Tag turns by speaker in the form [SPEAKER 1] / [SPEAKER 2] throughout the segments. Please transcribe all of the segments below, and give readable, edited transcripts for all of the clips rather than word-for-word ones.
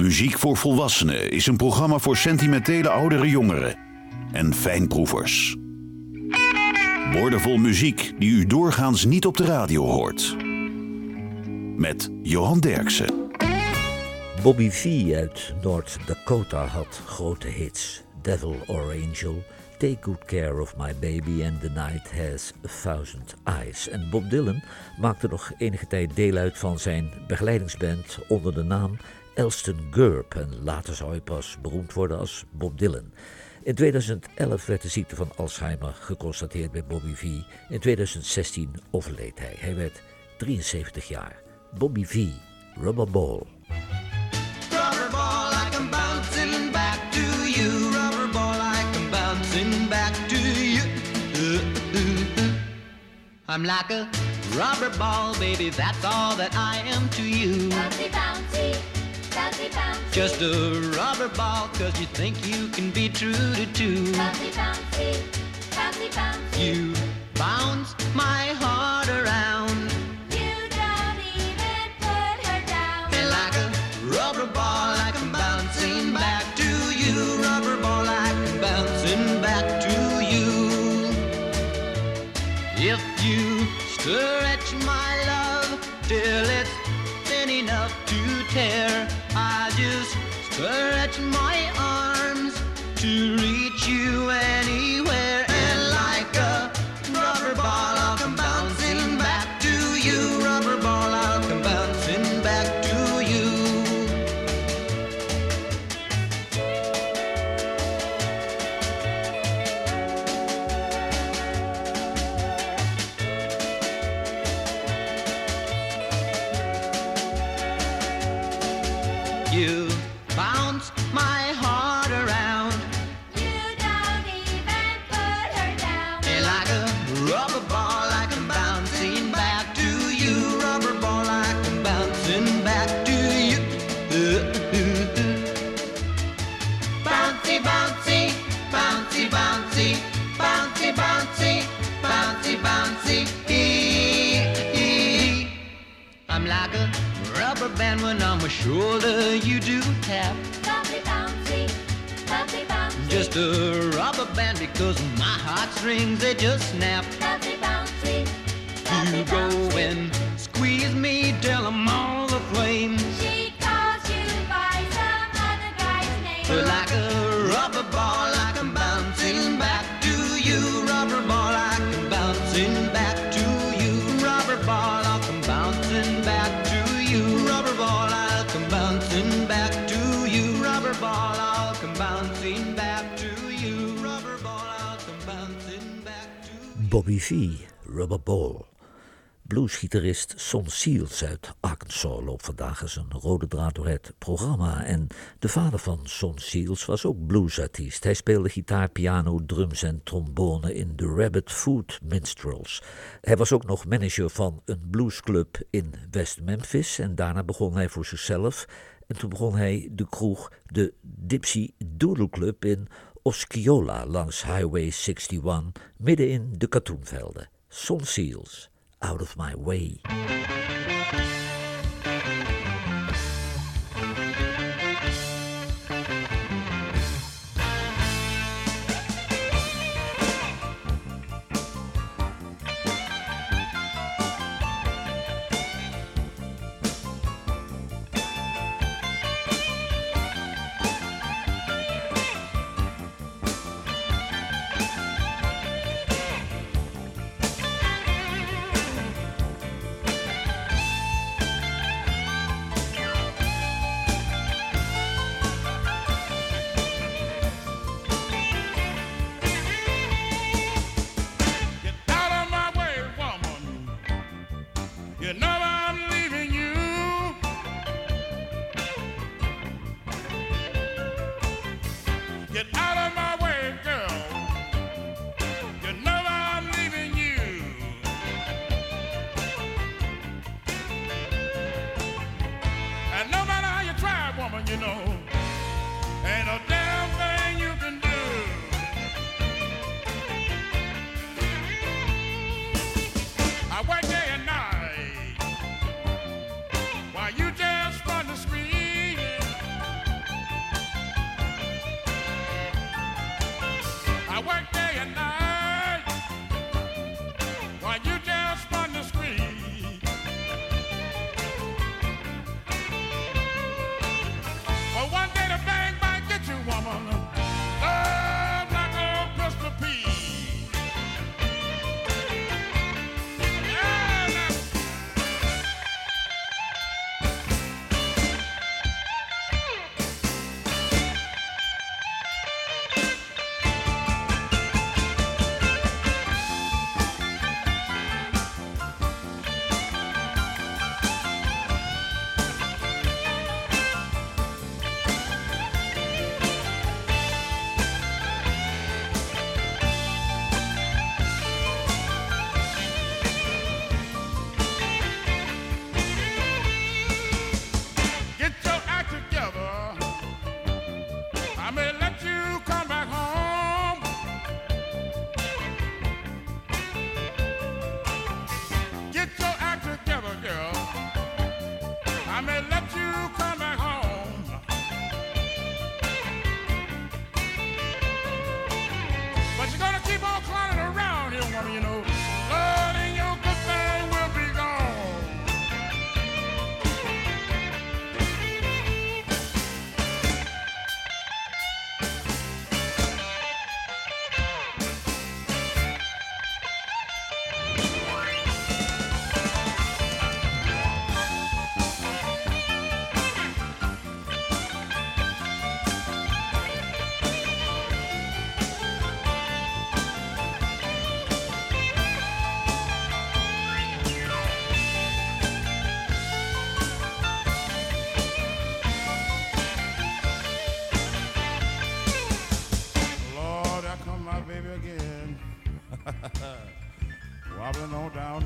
[SPEAKER 1] Muziek voor Volwassenen is een programma voor sentimentele oudere jongeren en fijnproevers. Woordenvol muziek die u doorgaans niet op de radio hoort. Met Johan Derksen.
[SPEAKER 2] Bobby V uit North Dakota had grote hits. Devil or Angel, Take Good Care of My Baby and The Night Has 1000 Eyes. En Bob Dylan maakte nog enige tijd deel uit van zijn begeleidingsband onder de naam Elston Gurb. En later zou hij pas beroemd worden als Bob Dylan. In 2011 werd de ziekte van Alzheimer geconstateerd bij Bobby V. In 2016 overleed hij. Hij werd 73 jaar. Bobby V, Rubber Ball.
[SPEAKER 3] Rubber ball, like I'm bouncing back to you. Rubber ball, like I'm bouncing back to you. I'm like a rubber ball, baby, that's all that I am to you.
[SPEAKER 4] Bouncy, bouncy, bouncy, bouncy.
[SPEAKER 3] Just a rubber ball, cause you think you can be true to two.
[SPEAKER 4] Bouncy, bouncy, bouncy, bouncy.
[SPEAKER 3] You bounce my heart around.
[SPEAKER 4] You don't even put her down.
[SPEAKER 3] And like a rubber ball, like I'm bouncing back to you. Rubber ball, like I'm bouncing back to you. If you stretch my love till it's thin enough to tear, I just stretch my arms to reach you anywhere. And like a rubber ball, I'll come bouncing back to you. Rubber ball, I'll come bouncing back to you. You bounce my heart around.
[SPEAKER 4] You don't even put her down.
[SPEAKER 3] And like a rubber ball, like I'm bouncing back to you. Rubber ball, like I'm bouncing back to you. Bouncy, bouncy, bouncy, bouncy, bouncy, bouncy, bouncy, bouncy. I'm like a rubber band when on my shoulder you do tap.
[SPEAKER 4] Bouncy, bouncy, bouncy, bouncy.
[SPEAKER 3] Just a rubber band because my heartstrings, they just snap.
[SPEAKER 4] Bouncy, bouncy,
[SPEAKER 3] You
[SPEAKER 4] bouncy,
[SPEAKER 3] go
[SPEAKER 4] bouncy.
[SPEAKER 3] and squeeze me till I'm all aflame.
[SPEAKER 4] She calls you by some other guy's name.
[SPEAKER 3] Like a rubber ball, like I'm bouncing back to you. Rubber ball, like I'm bouncing back to you. Rubber ball, like I'm bouncing back to you. Rubber ball, like I'm bouncing back to you. Rubber ball, like I'm bouncing back to you. Rubber ball, like I'm bouncing back to you.
[SPEAKER 2] Bobby V, Rubber Ball. Bluesgitarist Son Seals uit Arkansas loopt vandaag eens een rode draad door het programma. En de vader van Son Seals was ook bluesartiest. Hij speelde gitaar, piano, drums en trombone in de Rabbit Foot Minstrels. Hij was ook nog manager van een bluesclub in West Memphis. En daarna begon hij voor zichzelf. En toen begon hij de kroeg, de Dipsy Doodle Club in Osceola langs Highway 61, midden in de katoenvelden. Son Seals. Out of My Way.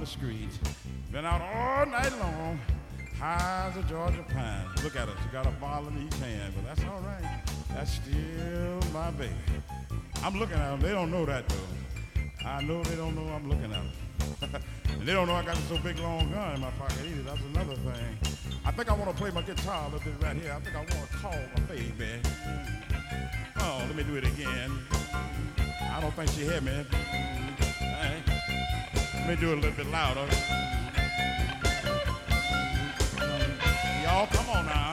[SPEAKER 5] street. Been out all night long, high as a Georgia pine. Look at her, she got a bottle in each hand, but that's all right. That's still my baby. I'm looking at them, they don't know that though. I know they don't know I'm looking at them. And they don't know I got this so big long gun in my pocket either, that's another thing. I think I want to play my guitar a little bit right here. I think I want to call my baby. Oh, let me do it again. I don't think she heard me. Right. Let me do it a little bit louder. Y'all, come on now.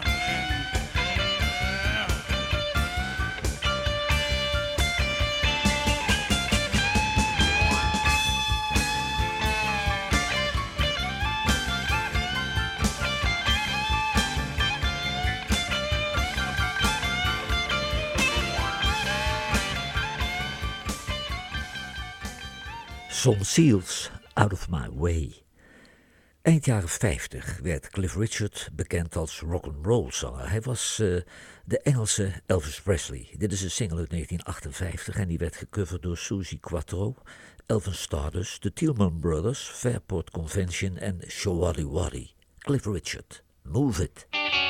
[SPEAKER 2] Son Seals, Out of My Way. Eind jaren 50 werd Cliff Richard bekend als rock'n'roll zanger. Hij was de Engelse Elvis Presley. Dit is een single uit 1958 en die werd gecoverd door Suzi Quatro, Elvin Stardust, de Tillman Brothers, Fairport Convention en Showaddy Waddy. Cliff Richard, Move It.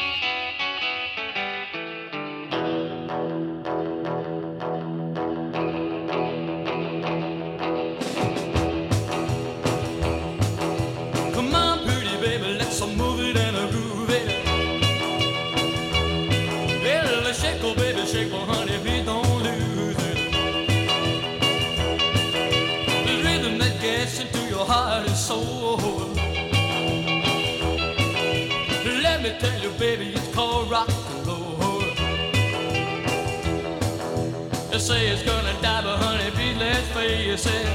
[SPEAKER 6] Shake, well, honey, please don't lose it. The rhythm that gets into your heart and soul. Let me tell you, baby, it's called rock and roll. They say it's gonna die, but honey, please let's face it.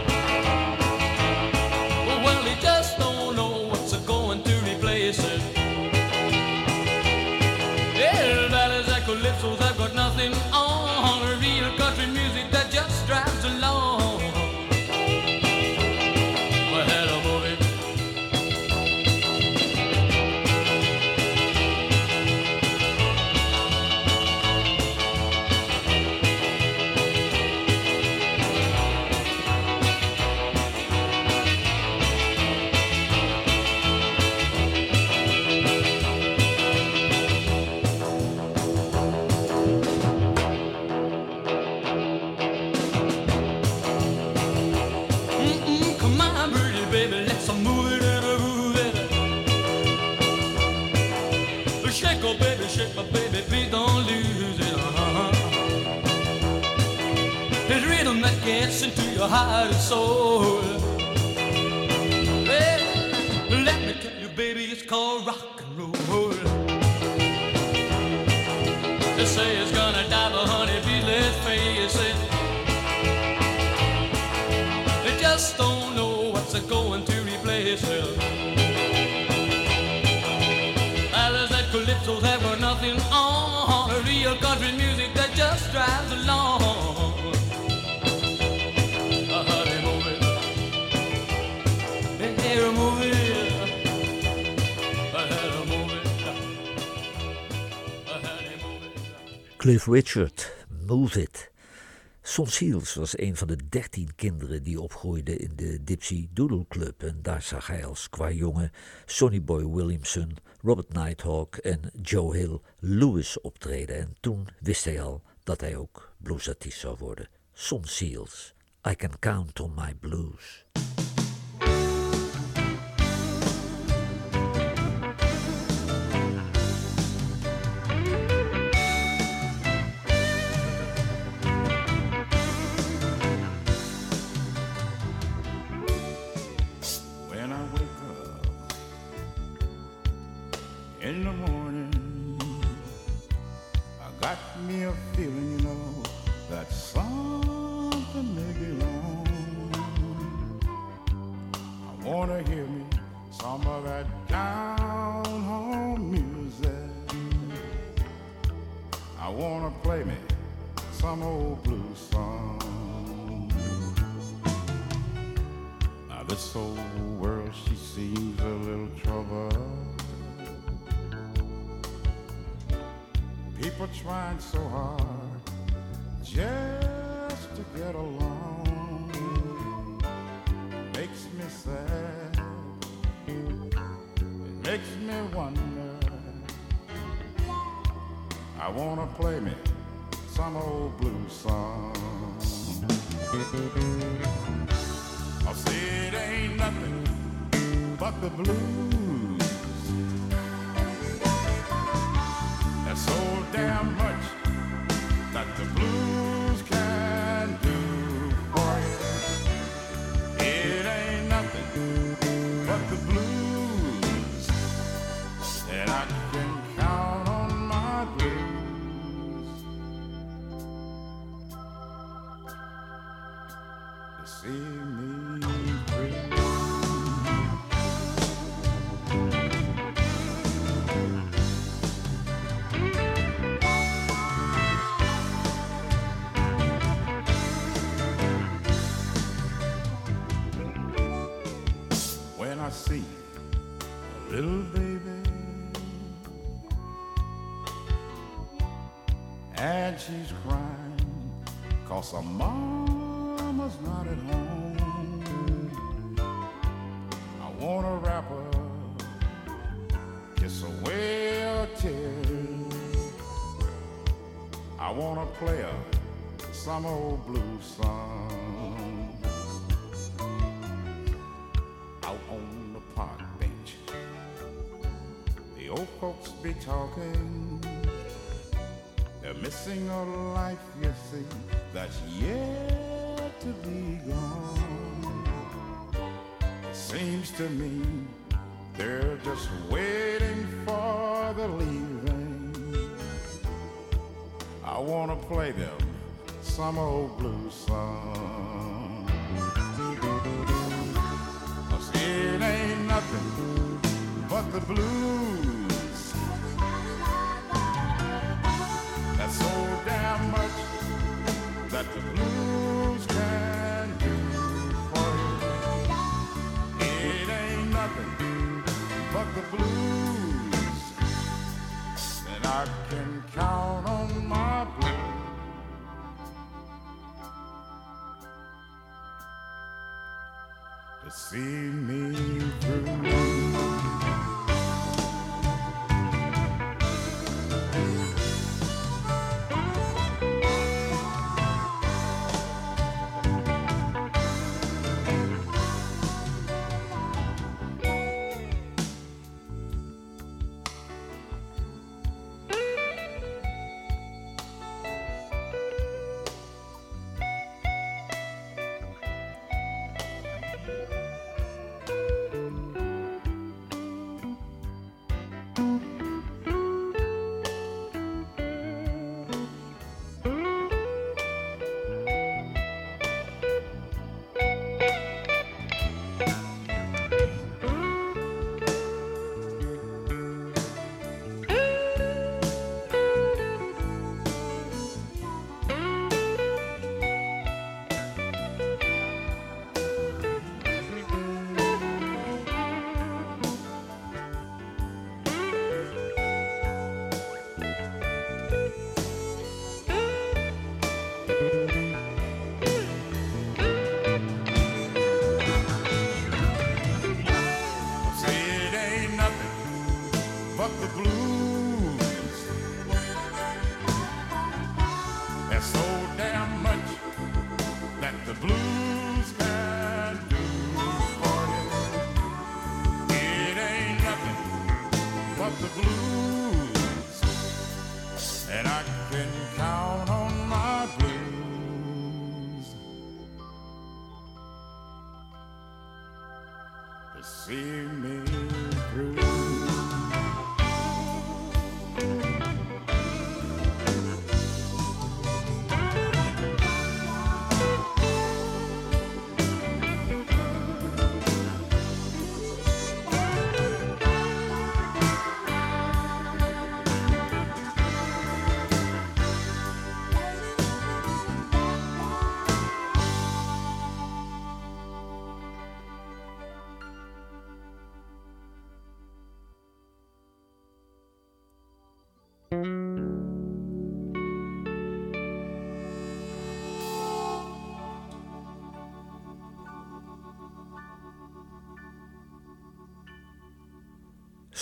[SPEAKER 6] Well, they just don't know what's going to replace it. Yeah, ballads and calypsos have got nothing on. Real country music that just drives along. Well, hello, movie. Shake, my baby, please don't lose it. It's rhythm that gets into your heart and soul. Well, let me tell you, baby, it's called rock and roll. They say it's gonna die, but honey, please let's face it. They just don't know what's going to replace it. Calypsos have got nothing on. A real country music that just drives along. Honey, move it. Hey, move it. Honey, move it. Honey, move it.
[SPEAKER 2] Cliff Richard, Move It. Son Seals was een van de 13 kinderen die opgroeiden in de Dipsy Doodle Club. En daar zag hij als qua jongen Sonny Boy Williamson, Robert Nighthawk en Joe Hill Lewis optreden. En toen wist hij al dat hij ook bluesartiest zou worden. Son Seals, I Can Count on My Blues.
[SPEAKER 5] In the morning, I got me a feeling, you know, that something may be wrong. I wanna hear me some of that down-home music. I wanna play me some old blues song. Now this old world, she seems a little troubled. People trying so hard just to get along. Makes me sad. makes me wonder. I wanna play me some old blues song. I'll say it ain't nothing but the blues. There's so damn much that the blues can do for you. It ain't nothing but the blues, and I can count on my blues to see me through. When I see a little baby and she's crying 'cause her mama's not at home, I wanna wrap her, kiss away her tears. I wanna play her some old blues song. Out on the park bench, the old folks be talking. They're missing a life, you see, that's yet to be gone. It seems to me they're just waiting for the leaving. I wanna play them some old blues song. 'Cause it ain't nothing but the blues. That's so damn much that the blues can do for you. It ain't nothing but the blues, and I can count on my blues to see me through.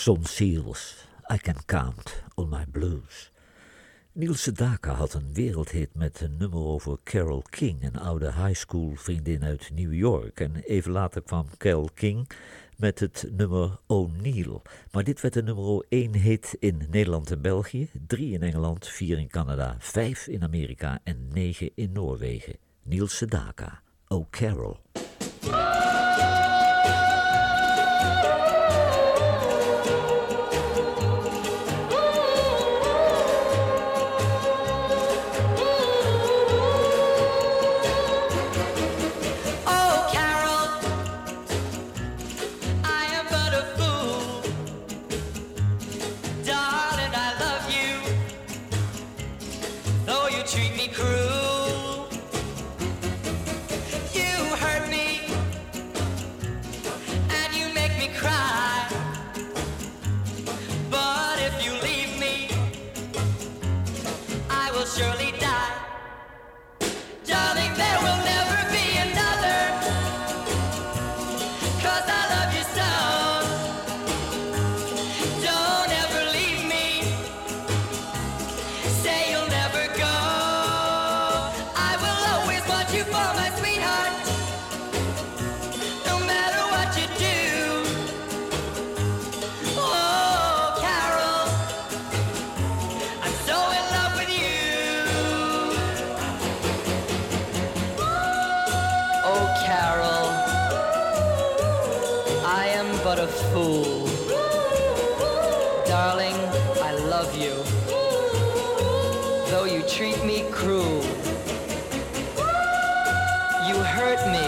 [SPEAKER 2] Son Seals, I Can Count on My Blues. Neil Sedaka had een wereldhit met een nummer over Carole King, een oude high school vriendin uit New York. En even later kwam Carole King met het nummer O'Neill. Maar dit werd de nummer 1 hit in Nederland en België, 3 in Engeland, 4 in Canada, 5 in Amerika en 9 in Noorwegen. Neil Sedaka, O Carol.
[SPEAKER 3] Treat me cruel. You hurt me and you make me cry. But if you leave me, I will surely die. Darling, there will never be another, 'cause I love you so. Don't ever leave me. Say you'll never go. You for my sweetheart, no matter what you do. Oh, Carol, I'm so in love with you. Oh, Carol, I am but a fool. Darling, I love you, though you treat me cruel. You hurt me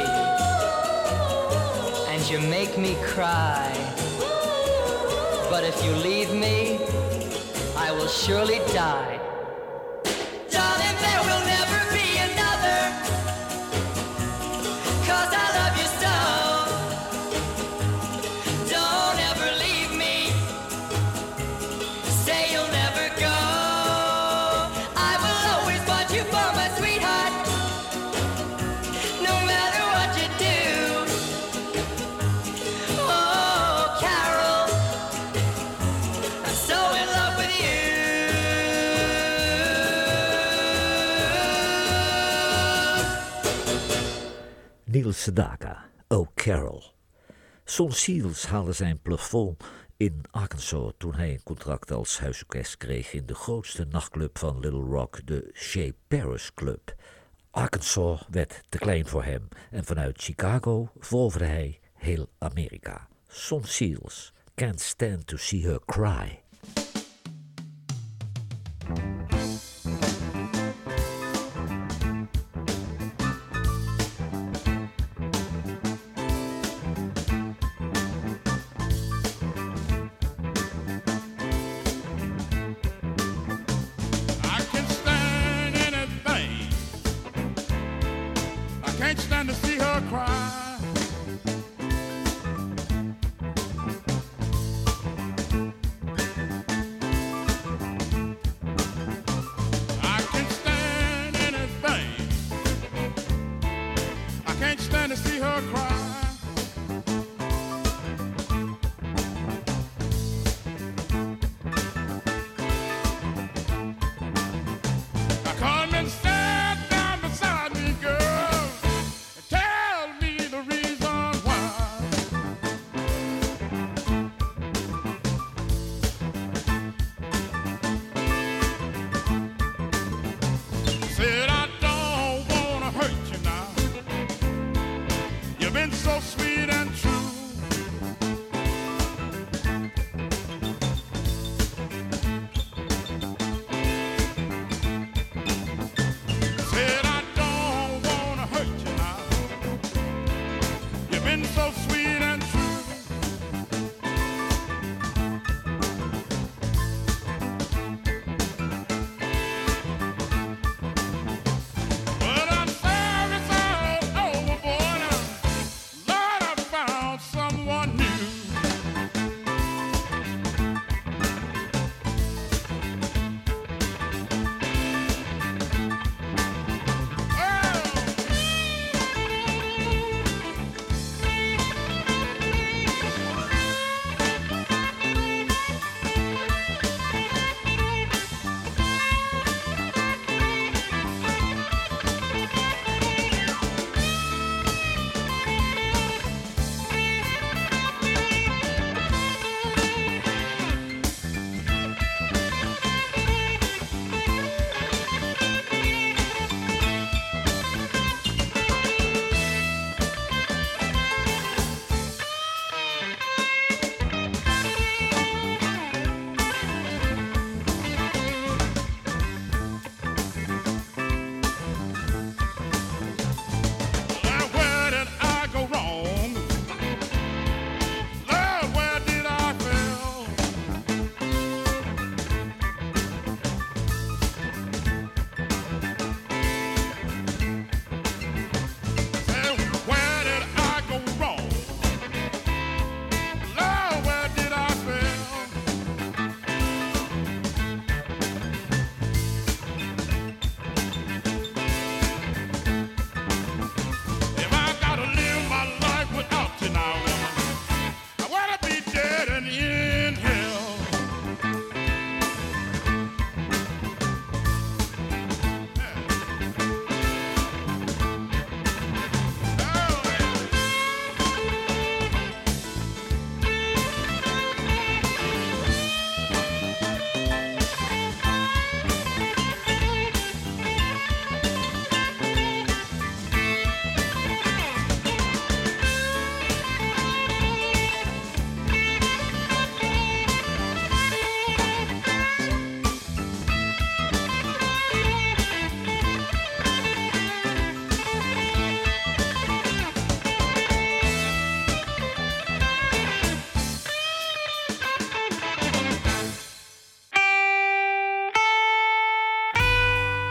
[SPEAKER 3] and you make me cry. But if you leave me, I will surely die. Darling, there will never be another, 'cause I love you so. Don't ever leave me. Say you'll never go. I will always want you for my sweetheart.
[SPEAKER 2] Neil Sedaka, O Carol. Son Seals haalde zijn plafond in Arkansas toen hij een contract als huisorkest kreeg in de grootste nachtclub van Little Rock, de Shea Paris Club. Arkansas werd te klein voor hem en vanuit Chicago veroverde hij heel Amerika. Son Seals, Can't Stand to See Her Cry.
[SPEAKER 5] Can't stand to see her cry. I can't stand anything. I can't stand to see her cry. I come and stand down beside me, girl. Tell me the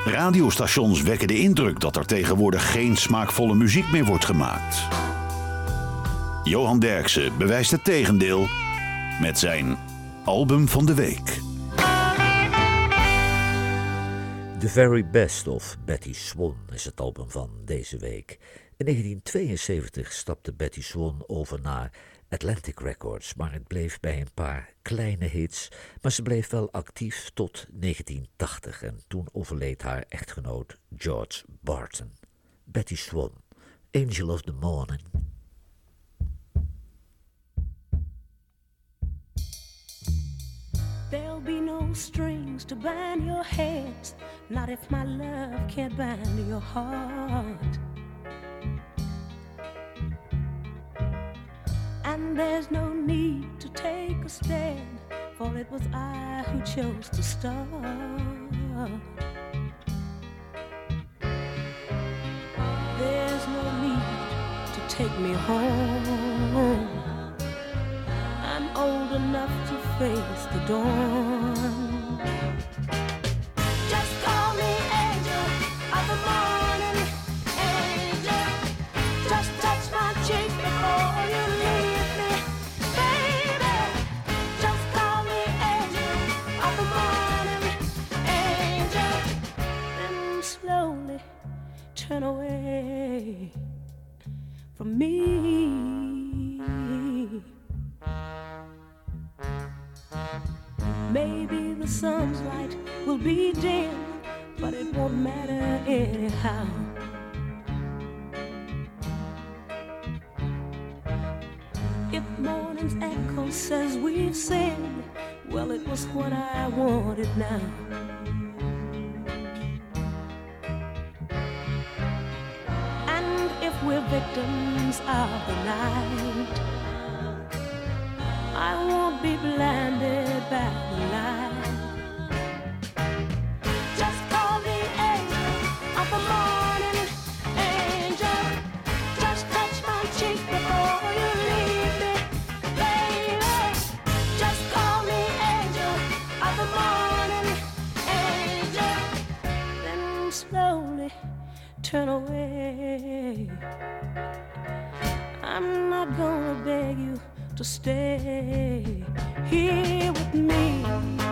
[SPEAKER 1] Radiostations wekken de indruk dat er tegenwoordig geen smaakvolle muziek meer wordt gemaakt. Johan Derksen bewijst het tegendeel met zijn album van de week.
[SPEAKER 2] The Very Best of Betty Swan is het album van deze week. In 1972 stapte Betty Swan over naar Atlantic Records, maar het bleef bij een paar kleine hits. Maar ze bleef wel actief tot 1980 en toen overleed haar echtgenoot George Barton. Betty Swan, Angel of the Morning.
[SPEAKER 7] There'll be no strings to bind your hands, not if my love can't bind your heart. And there's no need to take a stand, for it was I who chose to start. There's no need to take me home, I'm old enough to face the dawn. Just call me angel of the morning, angel. Just touch my cheek before you leave me, baby. Just call me angel of the morning, angel. Then slowly turn away from me. Maybe the sun's light will be dim, but it won't matter anyhow. If morning's echo says we've sinned, well, it was what I wanted now. And if we're victims of the night, I won't be blinded by the light. Just call me angel of the morning, angel. Just touch my cheek before you leave me, baby. Just call me angel of the morning, angel. Then slowly turn away. I'm not gonna beg you to stay here with me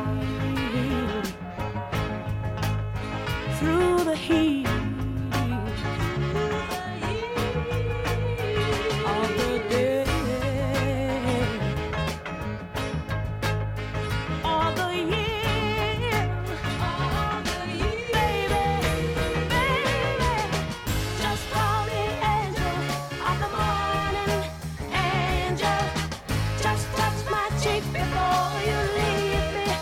[SPEAKER 7] through the heat of the day or the year, baby, baby. Just call me angel of the morning, angel. Just touch my cheek before you leave me,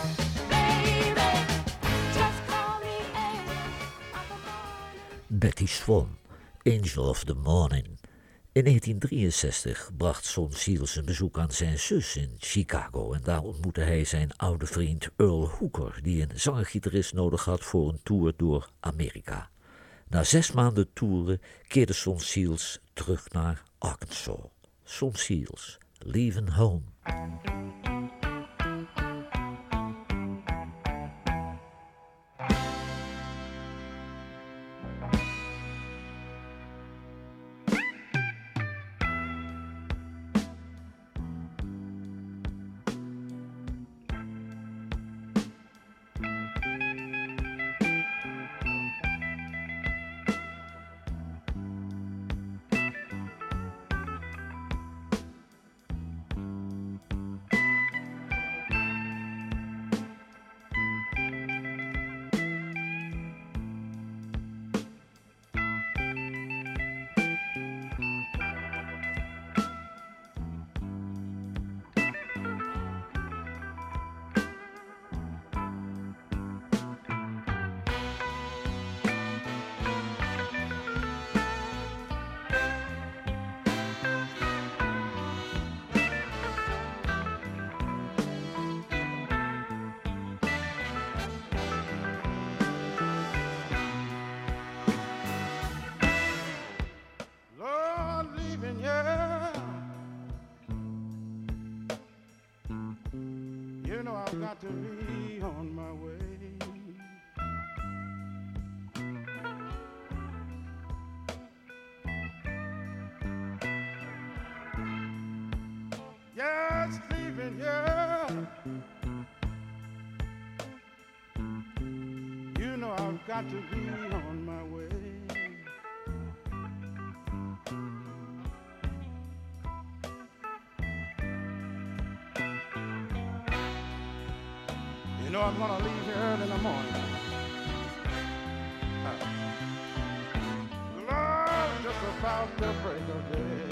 [SPEAKER 7] baby. Just call me angel of the morning.
[SPEAKER 2] Betty Swan, Angel of the Morning. In 1963 bracht Son Seals een bezoek aan zijn zus in Chicago en daar ontmoette hij zijn oude vriend Earl Hooker, die een zanger-gitarist nodig had voor een tour door Amerika. Na 6 maanden toeren keerde Son Seals terug naar Arkansas. Son Seals, Leaving Home.
[SPEAKER 5] You know I've got to be on my way. know I've got to be on my way. You know I'm gonna leave here early in the morning. Lord, just about the break of day.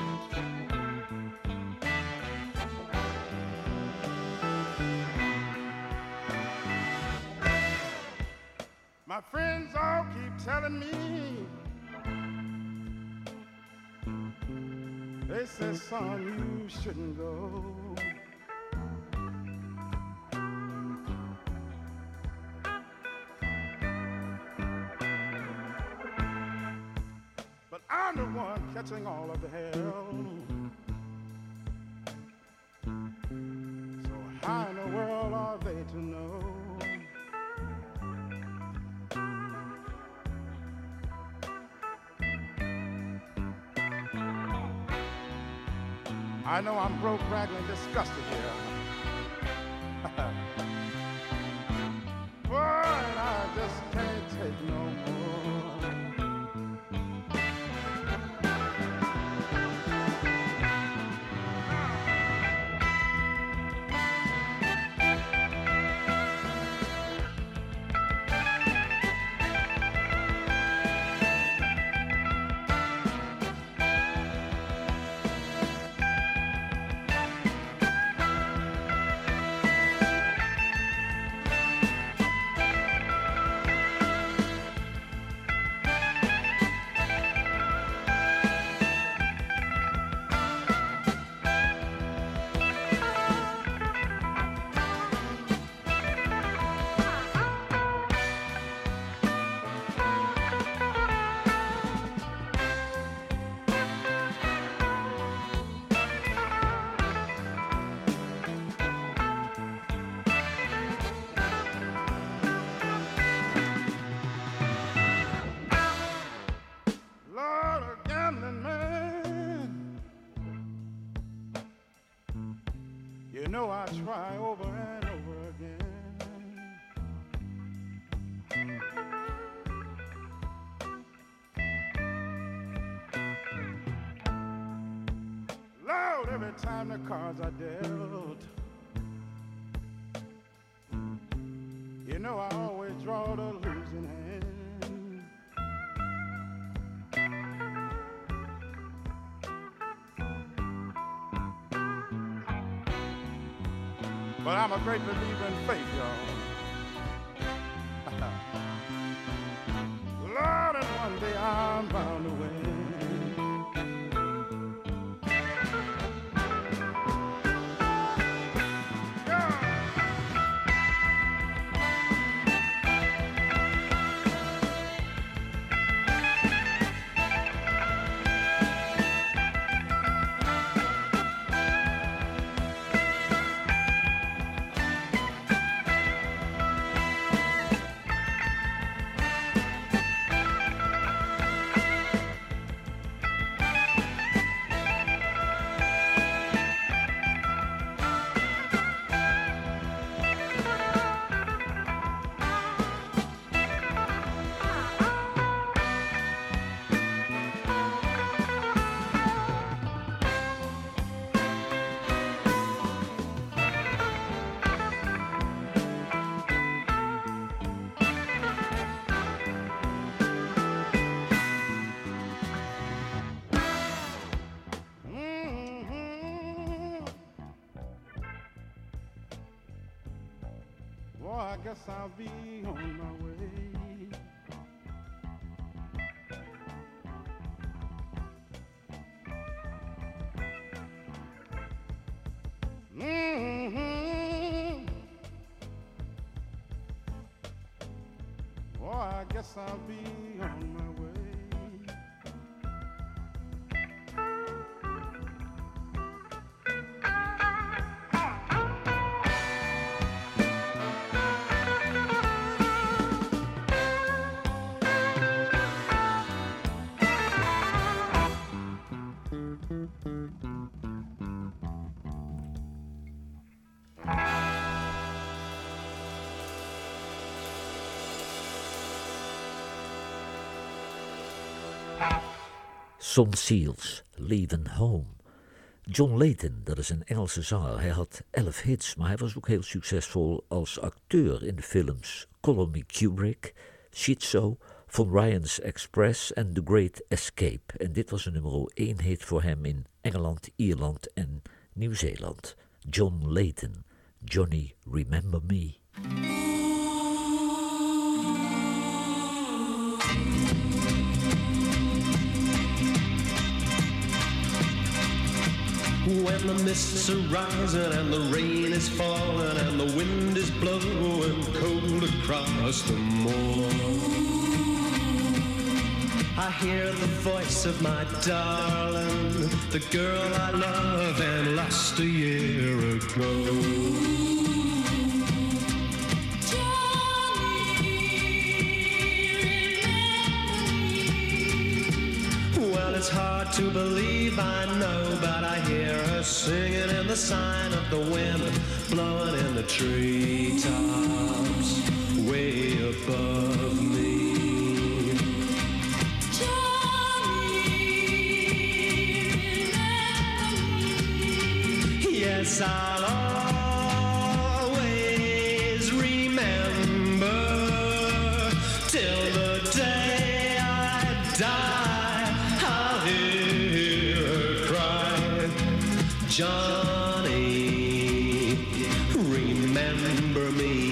[SPEAKER 5] My friends all keep telling me, they say, son, you shouldn't go. But I'm the one catching all of the hell. So how in the world are they to know? I know I'm broke, ragged, and disgusted here. Boy, I just can't take no more. You know I try over and over again. Lord, every time the cards are dealt, you know I always draw the losing hand. But I'm a great believer in faith, y'all. Lord, and one day I'm bound to win. I guess I'll be on my way. Oh, I guess I'll be on my way.
[SPEAKER 2] Son Seals, Leaving Home. John Layton, dat is een Engelse zanger. Hij had 11 hits, maar hij was ook heel succesvol als acteur in de films Call Me Kubrick, Schizo, Von Ryan's Express en The Great Escape. En dit was een nummer 1 hit voor hem in Engeland, Ierland en Nieuw-Zeeland. John Layton, Johnny Remember Me.
[SPEAKER 8] When the mists are rising and the rain is falling and the wind is blowing cold across the moor, I hear the voice of my darling, the girl I love and lost a year ago. Well, it's hard to believe, I know, but I hear her singing in the sign of the wind, blowing in the treetops way above me. Yes, I'll always remember till the day I die. I'll hear her cry, Johnny, remember me.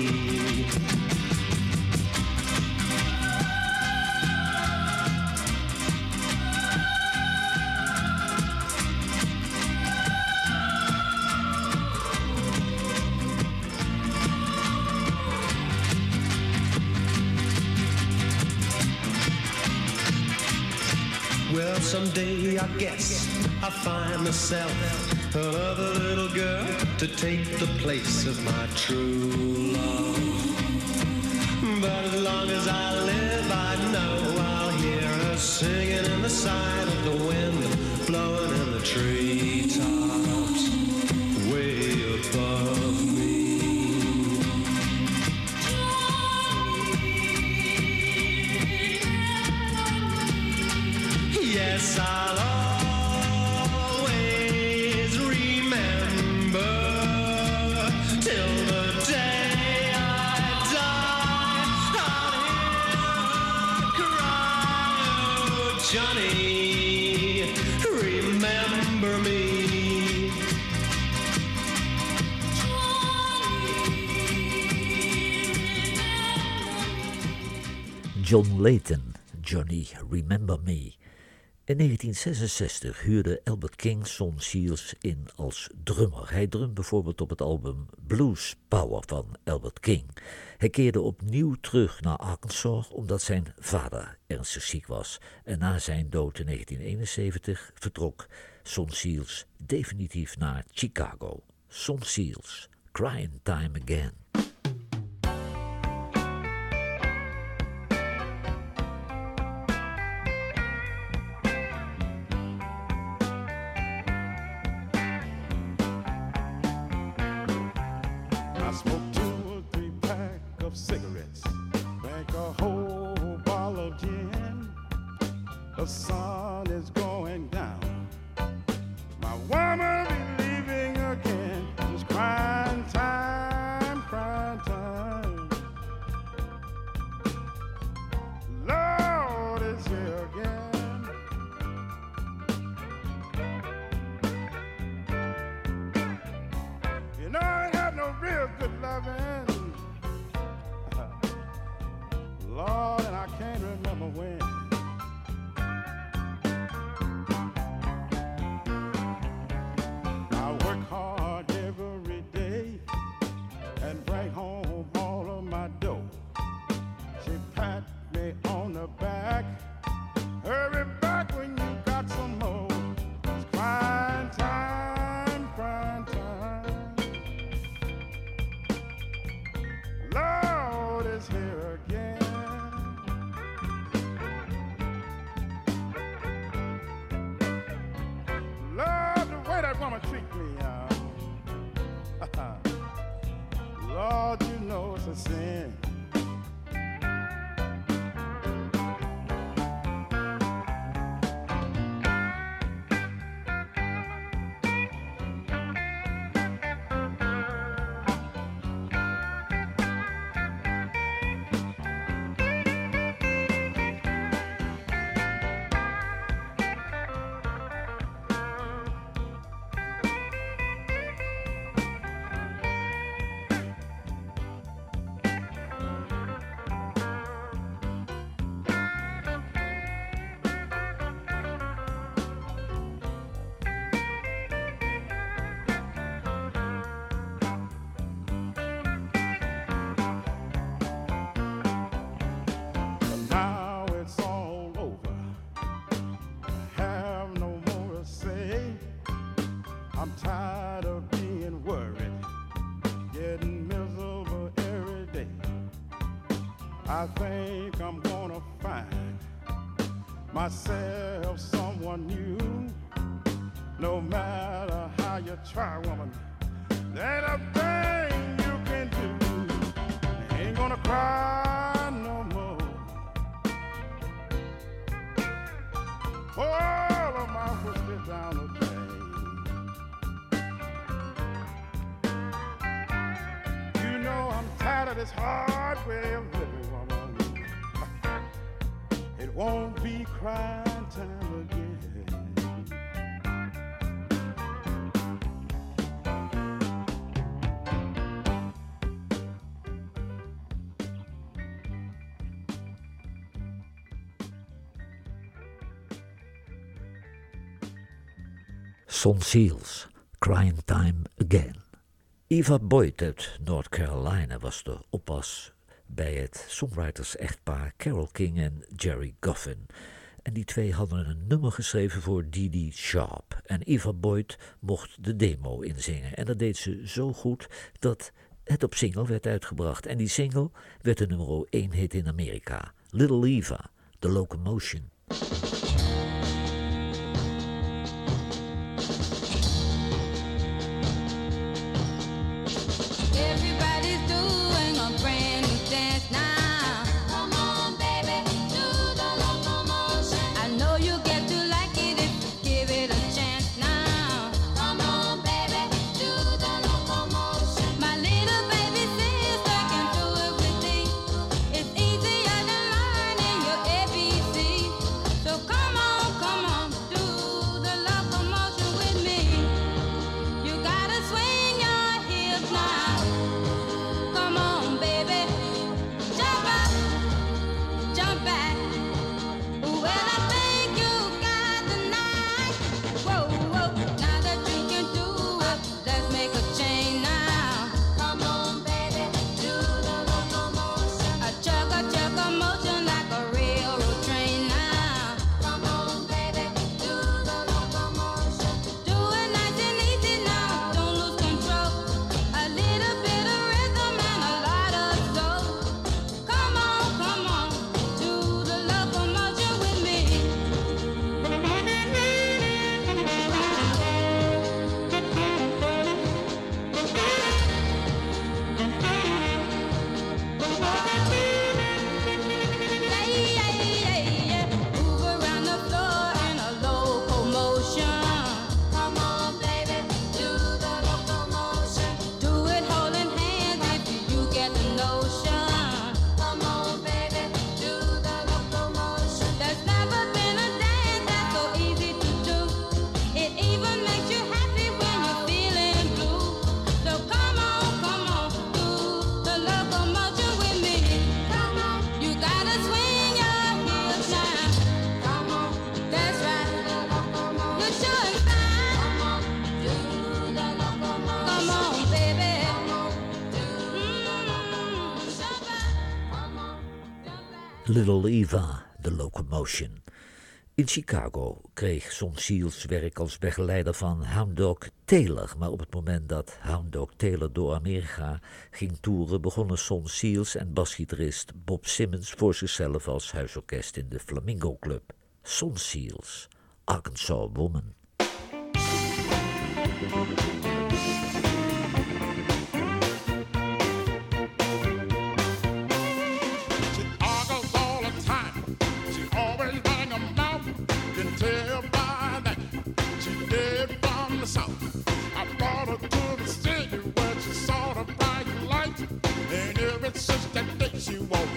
[SPEAKER 8] Well, someday I guess I'll find myself another little girl to take the place of my true love. But as long as I live, I know I'll hear her singing in the side of the wind, blowing in the treetops way above me. Yes, I'll always remember till the day I die. I'll hear her cry, oh, Johnny, remember me.
[SPEAKER 2] John Layton, Johnny Remember Me. In 1966 huurde Albert King Son Seals in als drummer. Hij drumde bijvoorbeeld op het album Blues Power van Albert King. Hij keerde opnieuw terug naar Arkansas omdat zijn vader ernstig ziek was. En na zijn dood in 1971 vertrok Son Seals definitief naar Chicago. Son Seals, Crying Time Again.
[SPEAKER 5] I smoked 2 or 3 pack of cigarettes, drank a whole bottle of gin. The sun is going down. My woman be leaving again. It's crying time, crying time. Lord is here again. You know I had no real good loving, Lord, and I can't remember when. I work hard every day and bring home all of my dough. She pat me on the back, hurry back when you got some more. It's crying time, crying time. Lord is here again. Lord, the way that woman treat me, Lord, you know it's a sin. I think I'm gonna find myself someone new. No matter how you try, woman, there ain't a thing you can do. I ain't gonna cry no more. All of my whiskey down the drain. You know I'm tired of this hard way of living, woman. It won't be crying time again.
[SPEAKER 2] Son Seals, Crying Time Again. Eva Boyd uit North Carolina was de oppas bij het songwriters-echtpaar Carole King en Jerry Goffin. En die twee hadden een nummer geschreven voor Dee Dee Sharp. En Eva Boyd mocht de demo inzingen. En dat deed ze zo goed dat het op single werd uitgebracht. En die single werd de nummer 1 hit in Amerika. Little Eva, The Locomotion.
[SPEAKER 4] Everybody's doing a brand new dance now. Come on, baby, do the locomotion. I know you get to like it if you give it a chance now. Come on, baby, do the locomotion. My little baby sister can do it with me. It's easier than learning your ABC. So come on, do the locomotion with me. You gotta swing your hips now. Come on, baby, jump up, jump back. Well, I think you got the knack. Whoa, whoa, now that you can do it, let's make a change now. Come on, baby, do the locomotion. A chugga motion like a railroad train now. Come on, baby, do the locomotion. Do it nice and easy now, don't lose control. A little bit of rhythm and a lot of soul. Come on, do the locomotion with me. Yeah. Move around the floor in a locomotion. Come on, baby, do the locomotion. Do it holding hands if you get the notion. Come on, baby, do the locomotion. There's never been a dance that's so easy to do. It even makes you happy when you're feeling blue. So come on, do the locomotion with me. Come on, you gotta swing your hips now. Come on, that's right. You're sure and fine. Come on, do the locomotion. Come on, baby. Jump up. Come on, jump back.
[SPEAKER 2] Little Eva, The Locomotion. In Chicago kreeg Son Seals werk als begeleider van Hound Dog Taylor. Maar op het moment dat Hound Dog Taylor door Amerika ging toeren, begonnen Son Seals en basgitarist Bob Simmons voor zichzelf als huisorkest in de Flamingo Club. Son Seals, Arkansas Woman.
[SPEAKER 5] She argues all the time. She always running her mouth. Can tell by that she dead from the south. I brought her to the city where she saw the bright light. And ever since that day she walked